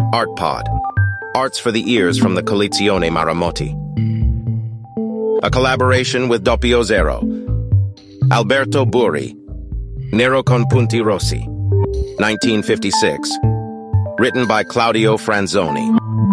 ArtPod, Arts for the Ears from the Collezione Maramotti. A collaboration with Doppio Zero. Alberto Burri, Nero con Punti Rossi, 1956. Written by Claudio Franzoni.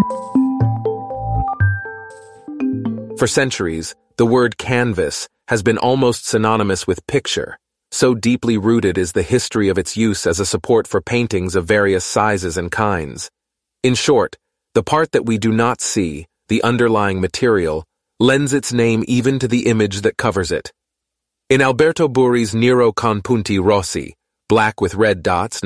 For centuries, the word canvas has been almost synonymous with picture. So deeply rooted is the history of its use as a support for paintings of various sizes and kinds. In short, the part that we do not see, the underlying material, lends its name even to the image that covers it. In Alberto Burri's Nero con Punti Rossi, Black with Red Dots,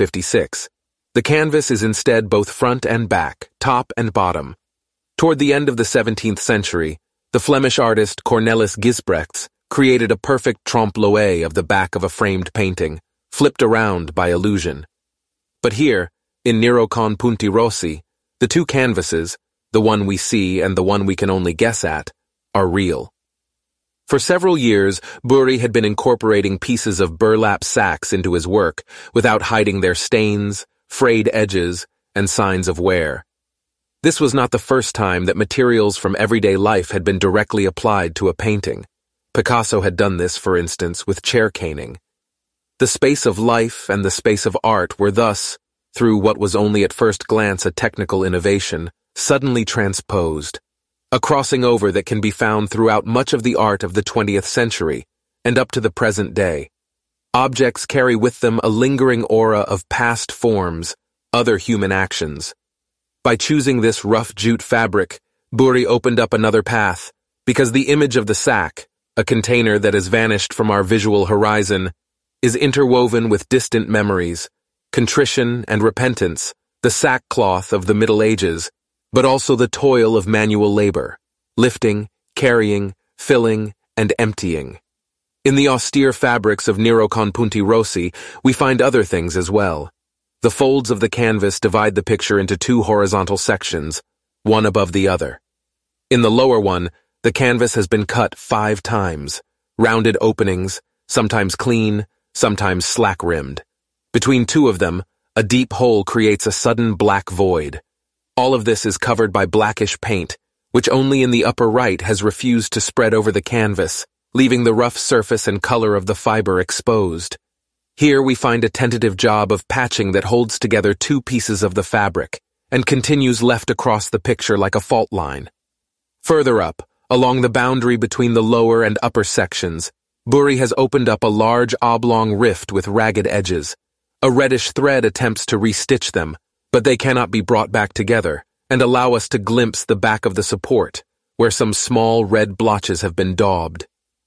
1956, the canvas is instead both front and back, top and bottom. Toward the end of the 17th century, the Flemish artist Cornelis Gisbrechts created a perfect trompe-l'oeil of the back of a framed painting, flipped around by illusion. But here, in Nero con Punti Rossi, the two canvases, the one we see and the one we can only guess at, are real. For several years, Burri had been incorporating pieces of burlap sacks into his work without hiding their stains, frayed edges, and signs of wear. This was not the first time that materials from everyday life had been directly applied to a painting. Picasso had done this, for instance, with chair caning. The space of life and the space of art were thus, through what was only at first glance a technical innovation, suddenly transposed, a crossing over that can be found throughout much of the art of the 20th century and up to the present day. Objects carry with them a lingering aura of past forms, other human actions. By choosing this rough jute fabric, Burri opened up another path, because the image of the sack, a container that has vanished from our visual horizon, is interwoven with distant memories, contrition and repentance, the sackcloth of the Middle Ages, but also the toil of manual labor, lifting, carrying, filling, and emptying. In the austere fabrics of Nero con Punti Rossi, we find other things as well. The folds of the canvas divide the picture into two horizontal sections, one above the other. In the lower one, the canvas has been cut 5 times, rounded openings, sometimes clean, sometimes slack-rimmed. Between two of them, a deep hole creates a sudden black void. All of this is covered by blackish paint, which only in the upper right has refused to spread over the canvas, leaving the rough surface and color of the fiber exposed. Here we find a tentative job of patching that holds together two pieces of the fabric and continues left across the picture like a fault line. Further up, along the boundary between the lower and upper sections, Burri has opened up a large oblong rift with ragged edges. A reddish thread attempts to restitch them, but they cannot be brought back together, and allow us to glimpse the back of the support, where some small red blotches have been daubed.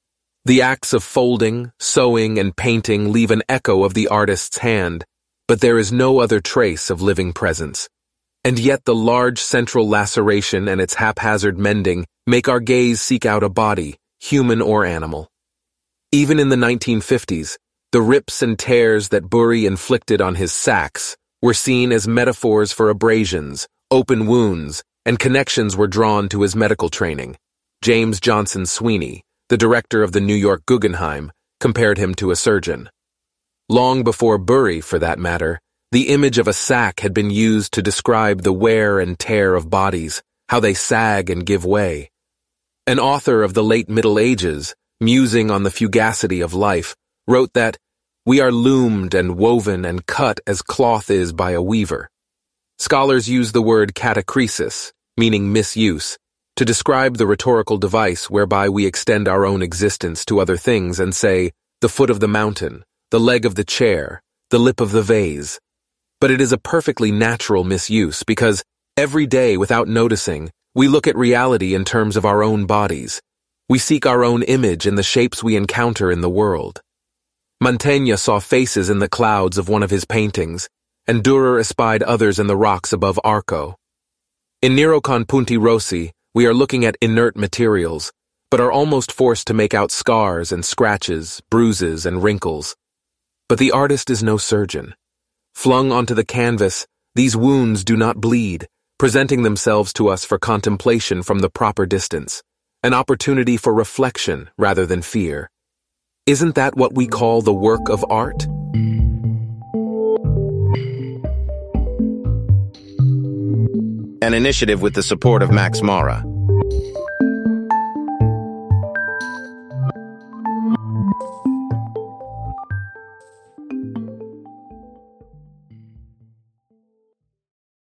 The acts of folding, sewing, and painting leave an echo of the artist's hand, but there is no other trace of living presence. And yet the large central laceration and its haphazard mending make our gaze seek out a body, human or animal. Even in the 1950s, the rips and tears that Burri inflicted on his sacks were seen as metaphors for abrasions, open wounds, and connections were drawn to his medical training. James Johnson Sweeney, the director of the New York Guggenheim, compared him to a surgeon. Long before Burri, for that matter, the image of a sack had been used to describe the wear and tear of bodies, how they sag and give way. An author of the late Middle Ages, musing on the fugacity of life, wrote that, "We are loomed and woven and cut as cloth is by a weaver." Scholars use the word catachresis, meaning misuse, to describe the rhetorical device whereby we extend our own existence to other things and say, the foot of the mountain, the leg of the chair, the lip of the vase. But it is a perfectly natural misuse because, every day without noticing, we look at reality in terms of our own bodies. We seek our own image in the shapes we encounter in the world. Mantegna saw faces in the clouds of one of his paintings, and Dürer espied others in the rocks above Arco. In Nero con Punti Rossi, we are looking at inert materials, but are almost forced to make out scars and scratches, bruises and wrinkles. But the artist is no surgeon. Flung onto the canvas, these wounds do not bleed, presenting themselves to us for contemplation from the proper distance, an opportunity for reflection rather than fear. Isn't that what we call the work of art? an initiative with the support of Max Mara.